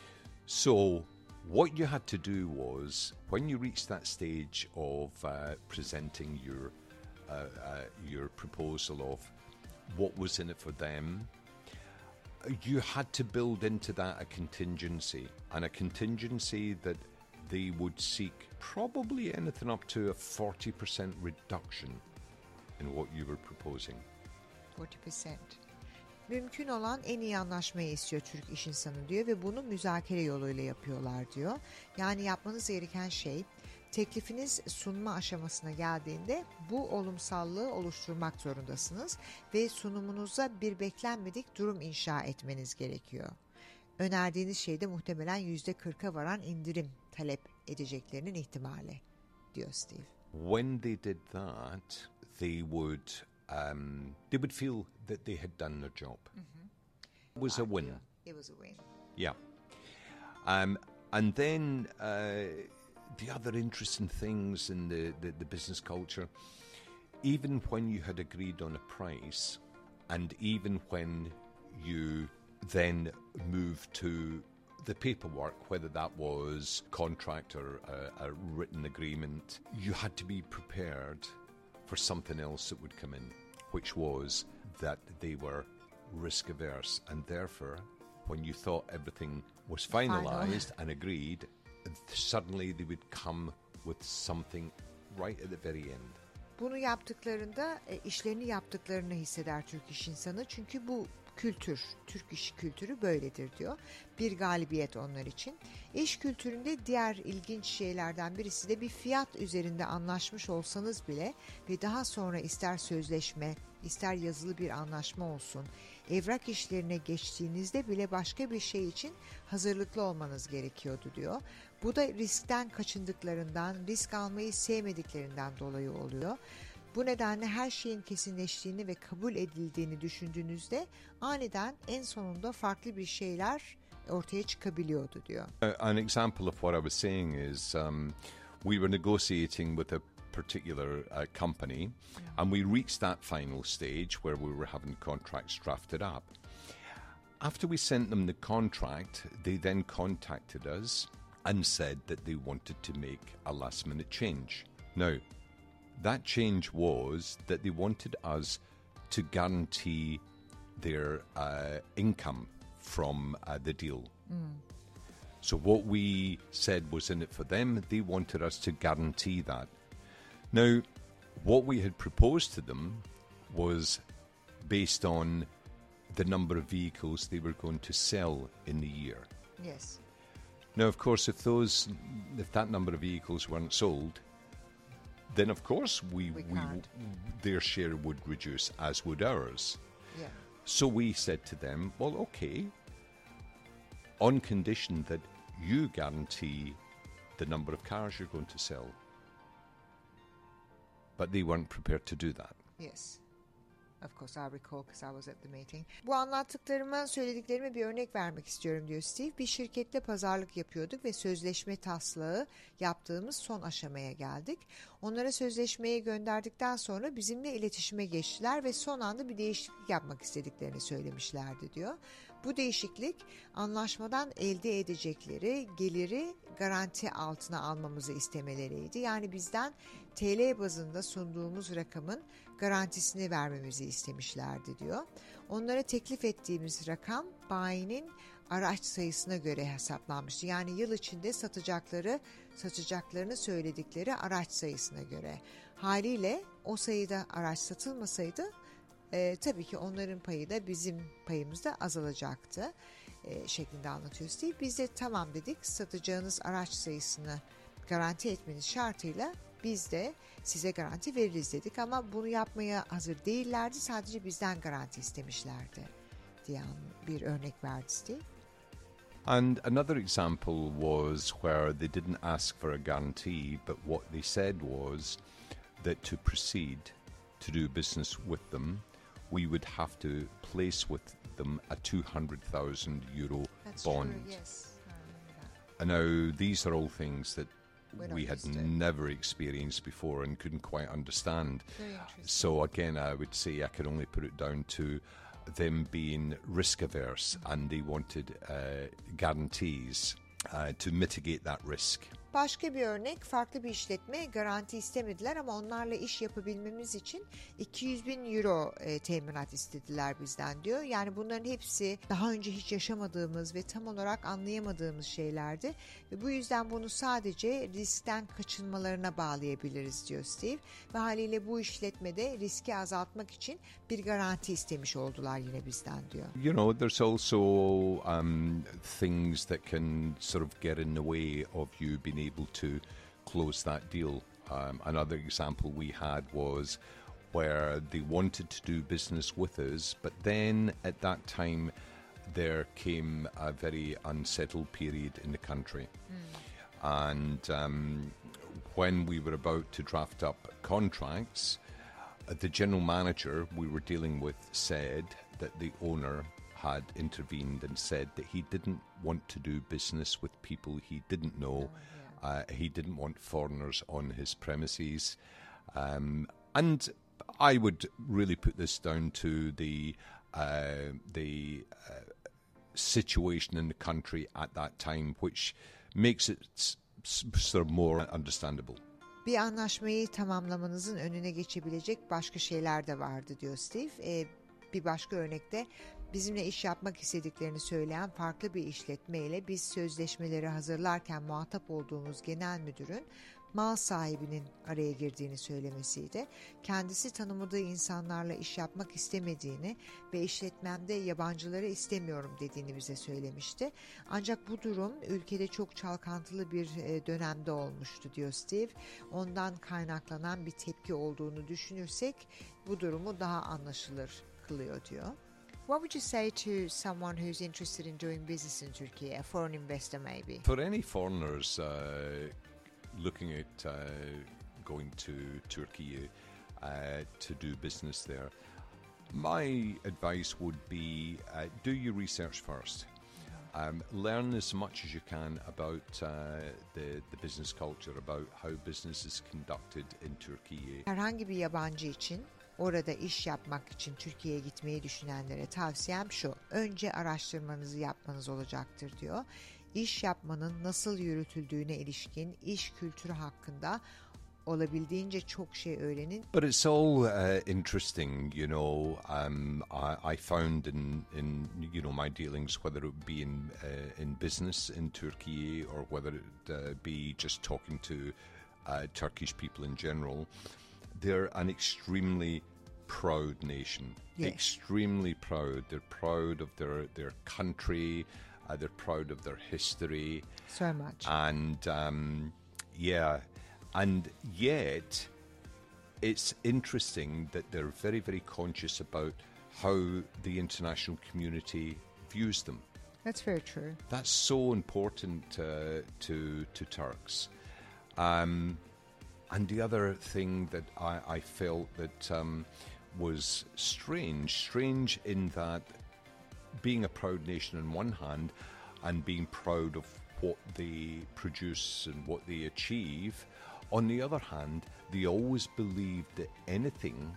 So what you had to do was, when you reached that stage of uh, presenting your uh, uh, your proposal of what was in it for them, you had to build into that a contingency, and a contingency that they would seek probably anything up to a forty percent reduction in what you were proposing. forty percent. Mümkün olan en iyi anlaşmayı istiyor Türk iş insanı diyor ve bunu müzakere yoluyla yapıyorlar diyor. Yani yapmanız gereken şey, teklifiniz sunma aşamasına geldiğinde bu olumsallığı oluşturmak zorundasınız ve sunumunuza bir beklenmedik durum inşa etmeniz gerekiyor. Önerdiğiniz şeyde muhtemelen yüzde kırka varan indirim talep edeceklerinin ihtimali diyor Steve. When they did that, they would um, they would feel that they had done their job. It was a win. It was a win. Yeah. Um, and then uh, the other interesting things in the, the, the business culture, even when you had agreed on a price, and even when you then move to the paperwork, whether that was contract or a, a written agreement. You had to be prepared for something else that would come in, which was that they were risk averse, and therefore when you thought everything was finalised Final. and agreed, suddenly they would come with something right at the very end. Bunu yaptıklarında e, işlerini yaptıklarını hisseder Türk iş insanı. Çünkü bu kültür, Türk iş kültürü böyledir diyor. Bir galibiyet onlar için. İş kültüründe diğer ilginç şeylerden birisi de bir fiyat üzerinde anlaşmış olsanız bile ve daha sonra ister sözleşme, ister yazılı bir anlaşma olsun, evrak işlerine geçtiğinizde bile başka bir şey için hazırlıklı olmanız gerekiyordu diyor. Bu da riskten kaçındıklarından, risk almayı sevmediklerinden dolayı oluyor. Bu nedenle her şeyin kesinleştiğini ve kabul edildiğini düşündüğünüzde aniden en sonunda farklı bir şeyler ortaya çıkabiliyordu diyor. An example of what I was saying is um, we were negotiating with a particular uh, company, mm. and we reached that final stage where we were having contracts drafted up. After we sent them the contract, they then contacted us and said that they wanted to make a last minute change. Now, that change was that they wanted us to guarantee their uh, income from uh, the deal. Mm. So what we said was in it for them. They wanted us to guarantee that. Now, what we had proposed to them was based on the number of vehicles they were going to sell in the year. Yes. Now, of course, if those, if that number of vehicles weren't sold, then of course we, we, we their share would reduce, as would ours. Yeah. So we said to them, well, okay, on condition that you guarantee the number of cars you're going to sell. But they weren't prepared to do that. Yes. Of course I recall because I was at the meeting. Bu anlattıklarıma, söylediklerime bir örnek vermek istiyorum diyor Steve. Bir şirketle pazarlık yapıyorduk ve sözleşme taslağı yaptığımız son aşamaya geldik. Onlara sözleşmeyi gönderdikten sonra bizimle iletişime geçtiler ve son anda bir değişiklik yapmak istediklerini söylemişlerdi diyor. Bu değişiklik anlaşmadan elde edecekleri geliri garanti altına almamızı istemeleriydi. Yani bizden T L bazında sunduğumuz rakamın garantisini vermemizi istemişlerdi diyor. Onlara teklif ettiğimiz rakam bayinin araç sayısına göre hesaplanmıştı. Yani yıl içinde satacakları, satacaklarını söyledikleri araç sayısına göre. Haliyle o sayıda araç satılmasaydı e, tabii ki onların payı da bizim payımız da azalacaktı e, şeklinde anlatıyor Steve. Biz de tamam dedik, satacağınız araç sayısını garanti etmeniz şartıyla biz de size garanti veririz dedik ama bunu yapmaya hazır değillerdi. Sadece bizden garanti istemişlerdi diyen bir örnek verdi Steve. And another example was where they didn't ask for a guarantee, but what they said was that to proceed to do business with them, we would have to place with them a two hundred thousand euro That's bond. True, yes. I remember that. And now these are all things that We're we had never experienced before and couldn't quite understand. Very interesting. So again, I would say I can only put it down to them being risk averse, and they wanted uh, guarantees uh, to mitigate that risk. Başka bir örnek, farklı bir işletme garanti istemediler ama onlarla iş yapabilmemiz için iki yüz bin euro e, teminat istediler bizden diyor. Yani bunların hepsi daha önce hiç yaşamadığımız ve tam olarak anlayamadığımız şeylerdi. Ve bu yüzden bunu sadece riskten kaçınmalarına bağlayabiliriz diyor Steve. Ve haliyle bu işletmede riski azaltmak için bir garanti istemiş oldular yine bizden diyor. You know, there's also um, things that can sort of get in the way of you being able to close that deal. Um, another example we had was where they wanted to do business with us, but then at that time there came a very unsettled period in the country. Mm. And um, when we were about to draft up contracts, uh, the general manager we were dealing with said that the owner had intervened and said that he didn't want to do business with people he didn't know. Oh, yeah. Uh, he didn't want foreigners on his premises. Um, and I would really put this down to the uh, the uh, situation in the country at that time, which makes it s- s- sort of more understandable. Bir anlaşmayı tamamlamanızın önüne geçebilecek başka şeyler de vardı diyor Steve. Ee, bir başka örnekte bizimle iş yapmak istediklerini söyleyen farklı bir işletmeyle biz sözleşmeleri hazırlarken muhatap olduğumuz genel müdürün mal sahibinin araya girdiğini söylemesiydi. Kendisi tanımadığı insanlarla iş yapmak istemediğini ve işletmemde yabancıları istemiyorum dediğini bize söylemişti. Ancak bu durum ülkede çok çalkantılı bir dönemde olmuştu diyor Steve. Ondan kaynaklanan bir tepki olduğunu düşünürsek bu durumu daha anlaşılır kılıyor diyor. What would you say to someone who's interested in doing business in Turkey, a foreign investor maybe? For any foreigners uh, looking at uh, going to Turkey uh, to do business there, my advice would be uh, do your research first. Um, learn as much as you can about uh, the, the business culture, about how business is conducted in Turkey. Herhangi bir yabancı için orada iş yapmak için Türkiye'ye gitmeyi düşünenlere tavsiyem şu: önce araştırmanızı yapmanız olacaktır diyor. İş yapmanın nasıl yürütüldüğüne ilişkin iş kültürü hakkında olabildiğince çok şey öğrenin. But it's all uh, interesting, you know. Um, I, I found in, in you know my dealings, whether it be in uh, in business in Turkey or whether it uh, be just talking to uh, Turkish people in general, they're an extremely proud nation. Yes. Extremely proud. They're proud of their their country. Uh, they're proud of their history. So much. And um, yeah. And yet, it's interesting that they're very, very conscious about how the international community views them. That's very true. That's so important uh, to to Turks. Um, and the other thing that I, I felt that um, was strange, strange in that being a proud nation on one hand and being proud of what they produce and what they achieve, on the other hand, they always believed that anything,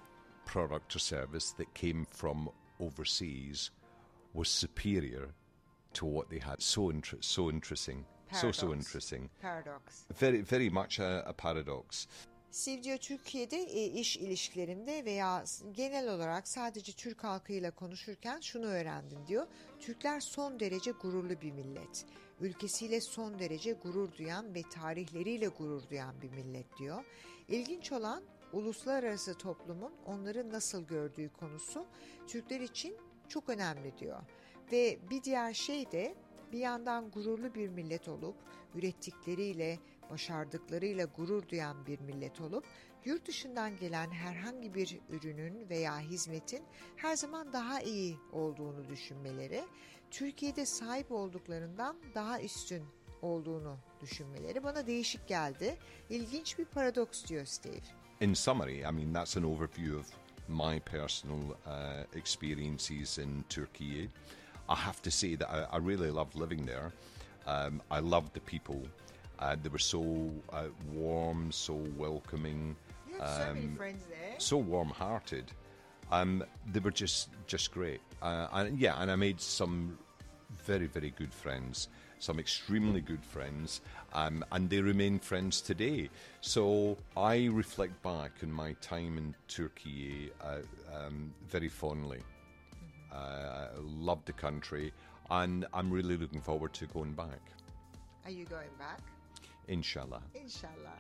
product or service, that came from overseas was superior to what they had. So inter- so interesting. Paradox. So, so interesting. Paradox. Very, very much a, a paradox. Steve diyor, Türkiye'de e, iş ilişkilerimde veya genel olarak sadece Türk halkıyla konuşurken şunu öğrendim diyor. Türkler son derece gururlu bir millet. Ülkesiyle son derece gurur duyan ve tarihleriyle gurur duyan bir millet diyor. İlginç olan uluslararası toplumun onları nasıl gördüğü konusu Türkler için çok önemli diyor. Ve bir diğer şey de bir yandan gururlu bir millet olup ürettikleriyle, başardıklarıyla gurur duyan bir millet olup yurt dışından gelen herhangi bir ürünün veya hizmetin her zaman daha iyi olduğunu düşünmeleri, Türkiye'de sahip olduklarından daha üstün olduğunu düşünmeleri bana değişik geldi. İlginç bir paradoks diyor Steve. In summary, I mean, that's an overview of my personal uh, experiences in Turkey. I have to say that I, I really loved living there. Um, I loved the people. Uh, they were so uh, warm, so welcoming. You have so many um, friends there. So warm-hearted. Um, they were just just great. Uh, and yeah, and I made some very, very good friends, some extremely good friends, um, and they remain friends today. So I reflect back on my time in Turkey uh, um, very fondly. Mm-hmm. Uh, I loved the country, and I'm really looking forward to going back. Are you going back? İnşallah. İnşallah.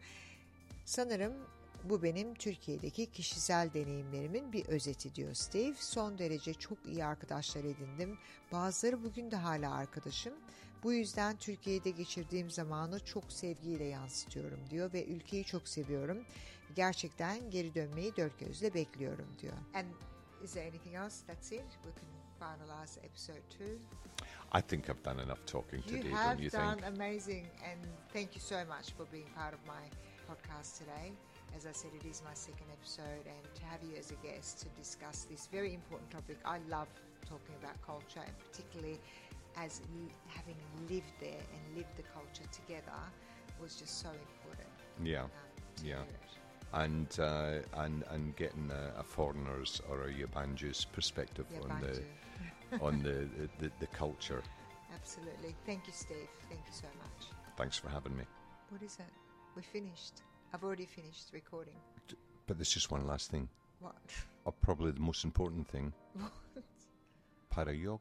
Sanırım bu benim Türkiye'deki kişisel deneyimlerimin bir özeti diyor Steve. Son derece çok iyi arkadaşlar edindim. Bazıları bugün de hala arkadaşım. Bu yüzden Türkiye'de geçirdiğim zamanı çok sevgiyle yansıtıyorum diyor ve ülkeyi çok seviyorum. Gerçekten geri dönmeyi dört gözle bekliyorum diyor. And is there anything else? That's it. We can finalize episode two. I think I've done enough talking You today, have don't you done think? amazing, and thank you so much for being part of my podcast today. As I said, it is my second episode, and to have you as a guest to discuss this very important topic. I love talking about culture, and particularly as l- having lived there and lived the culture together was just so important. Yeah, um, to yeah. hear it. and uh, and and getting a, a foreigner's or a yabancı's perspective on the on the, the the culture. Absolutely. Thank you, Steve. Thank you so much. Thanks for having me. What is it? We finished. I've already finished recording. But there's just one last thing. What? Or probably the most important thing. Para yok.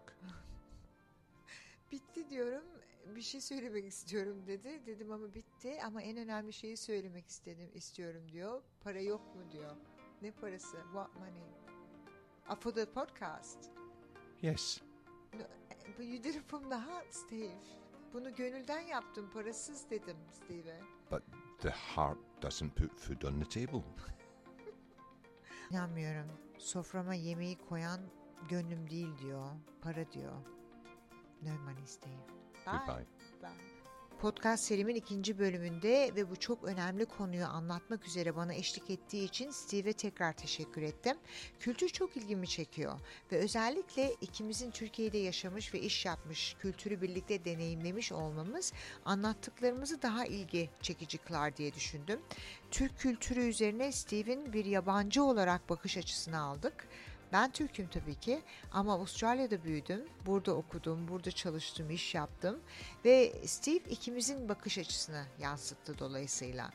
Bitti diyorum. Bir şey söylemek istiyorum dedi. Dedim ama bitti ama en önemli şeyi söylemek istedim istiyorum diyor. Para yok mu diyor. Ne parası? What money? Uh, for the podcast. Yes. No, but you did it from the heart, Steve. Bunu gönülden yaptım. Parasız dedim Steve'e. But the heart doesn't put food on the table. İnanmıyorum. Soframa yemeği koyan gönlüm değil diyor. Para diyor. No money, Steve. Bye. Goodbye. Bye. Podcast serimin ikinci bölümünde ve bu çok önemli konuyu anlatmak üzere bana eşlik ettiği için Steve'e tekrar teşekkür ettim. Kültür çok ilgimi çekiyor ve özellikle ikimizin Türkiye'de yaşamış ve iş yapmış, kültürü birlikte deneyimlemiş olmamız anlattıklarımızı daha ilgi çekici kılar diye düşündüm. Türk kültürü üzerine Steve'in bir yabancı olarak bakış açısını aldık. Ben Türk'üm tabii ki ama Avustralya'da büyüdüm, burada okudum, burada çalıştım, iş yaptım ve Steve ikimizin bakış açısını yansıttı dolayısıyla.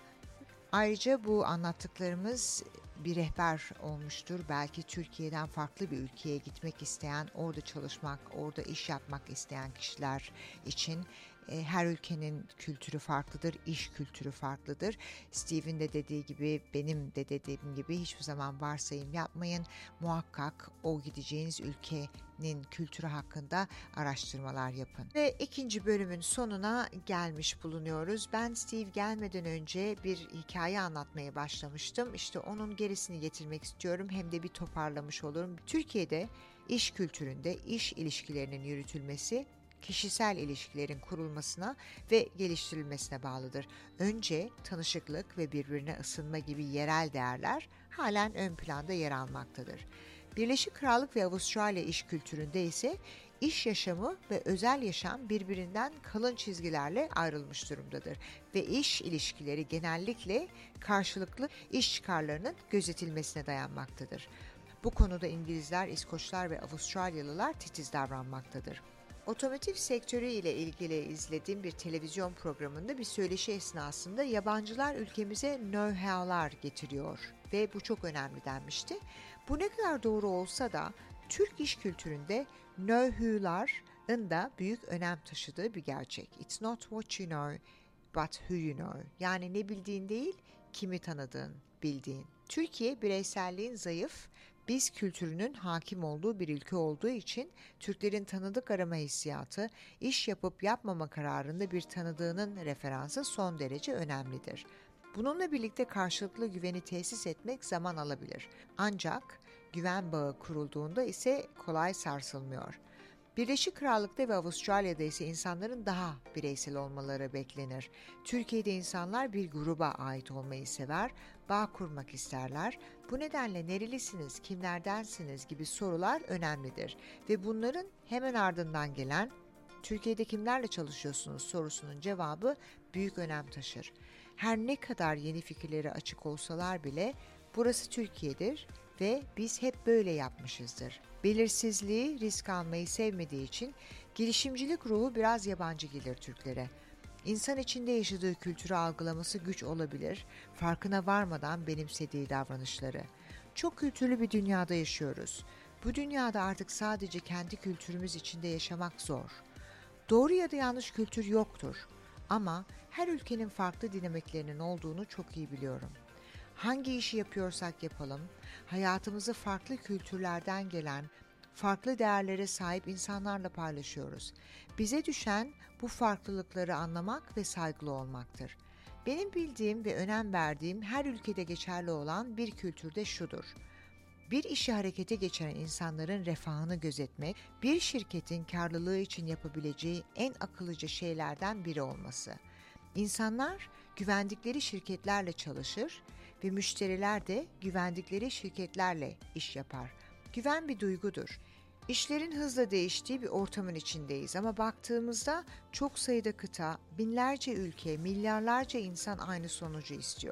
Ayrıca bu anlattıklarımız bir rehber olmuştur. Belki Türkiye'den farklı bir ülkeye gitmek isteyen, orada çalışmak, orada iş yapmak isteyen kişiler için. Her ülkenin kültürü farklıdır, iş kültürü farklıdır. Steve'in de dediği gibi, benim de dediğim gibi hiçbir zaman varsayım yapmayın. Muhakkak o gideceğiniz ülkenin kültürü hakkında araştırmalar yapın. Ve ikinci bölümün sonuna gelmiş bulunuyoruz. Ben Steve gelmeden önce bir hikaye anlatmaya başlamıştım. İşte onun gerisini getirmek istiyorum. Hem de bir toparlamış olurum. Türkiye'de iş kültüründe iş ilişkilerinin yürütülmesi kişisel ilişkilerin kurulmasına ve geliştirilmesine bağlıdır. Önce tanışıklık ve birbirine ısınma gibi yerel değerler halen ön planda yer almaktadır. Birleşik Krallık ve Avustralya iş kültüründe ise iş yaşamı ve özel yaşam birbirinden kalın çizgilerle ayrılmış durumdadır ve iş ilişkileri genellikle karşılıklı iş çıkarlarının gözetilmesine dayanmaktadır. Bu konuda İngilizler, İskoçlar ve Avustralyalılar titiz davranmaktadır. Otomotiv sektörü ile ilgili izlediğim bir televizyon programında bir söyleşi esnasında yabancılar ülkemize know-how'lar getiriyor ve bu çok önemli denmişti. Bu ne kadar doğru olsa da Türk iş kültüründe know-who'ların da büyük önem taşıdığı bir gerçek. It's not what you know, but who you know. Yani ne bildiğin değil, kimi tanıdığın, bildiğin. Türkiye bireyselliğin zayıf, biz kültürünün hakim olduğu bir ülke olduğu için Türklerin tanıdık arama hissiyatı, iş yapıp yapmama kararında bir tanıdığının referansı son derece önemlidir. Bununla birlikte karşılıklı güveni tesis etmek zaman alabilir. Ancak güven bağı kurulduğunda ise kolay sarsılmıyor. Birleşik Krallık'ta ve Avustralya'da ise insanların daha bireysel olmaları beklenir. Türkiye'de insanlar bir gruba ait olmayı sever, bağ kurmak isterler. Bu nedenle nerelisiniz, kimlerdensiniz gibi sorular önemlidir. Ve bunların hemen ardından gelen Türkiye'de kimlerle çalışıyorsunuz sorusunun cevabı büyük önem taşır. Her ne kadar yeni fikirlere açık olsalar bile burası Türkiye'dir ve biz hep böyle yapmışızdır. Belirsizliği, risk almayı sevmediği için girişimcilik ruhu biraz yabancı gelir Türklere. İnsan içinde yaşadığı kültürü algılaması güç olabilir, farkına varmadan benimsediği davranışları. Çok kültürlü bir dünyada yaşıyoruz. Bu dünyada artık sadece kendi kültürümüz içinde yaşamak zor. Doğru ya da yanlış kültür yoktur ama her ülkenin farklı dinamiklerinin olduğunu çok iyi biliyorum. Hangi işi yapıyorsak yapalım, hayatımızı farklı kültürlerden gelen, farklı değerlere sahip insanlarla paylaşıyoruz. Bize düşen bu farklılıkları anlamak ve saygılı olmaktır. Benim bildiğim ve önem verdiğim her ülkede geçerli olan bir kültürde şudur. Bir işi harekete geçiren insanların refahını gözetmek, bir şirketin karlılığı için yapabileceği en akıllıca şeylerden biri olması. İnsanlar güvendikleri şirketlerle çalışır ve müşteriler de güvendikleri şirketlerle iş yapar. Güven bir duygudur. İşlerin hızla değiştiği bir ortamın içindeyiz ama baktığımızda çok sayıda kıta, binlerce ülke, milyarlarca insan aynı sonucu istiyor.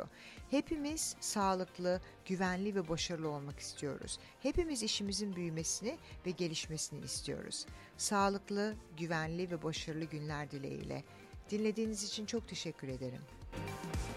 Hepimiz sağlıklı, güvenli ve başarılı olmak istiyoruz. Hepimiz işimizin büyümesini ve gelişmesini istiyoruz. Sağlıklı, güvenli ve başarılı günler dileğiyle. Dinlediğiniz için çok teşekkür ederim.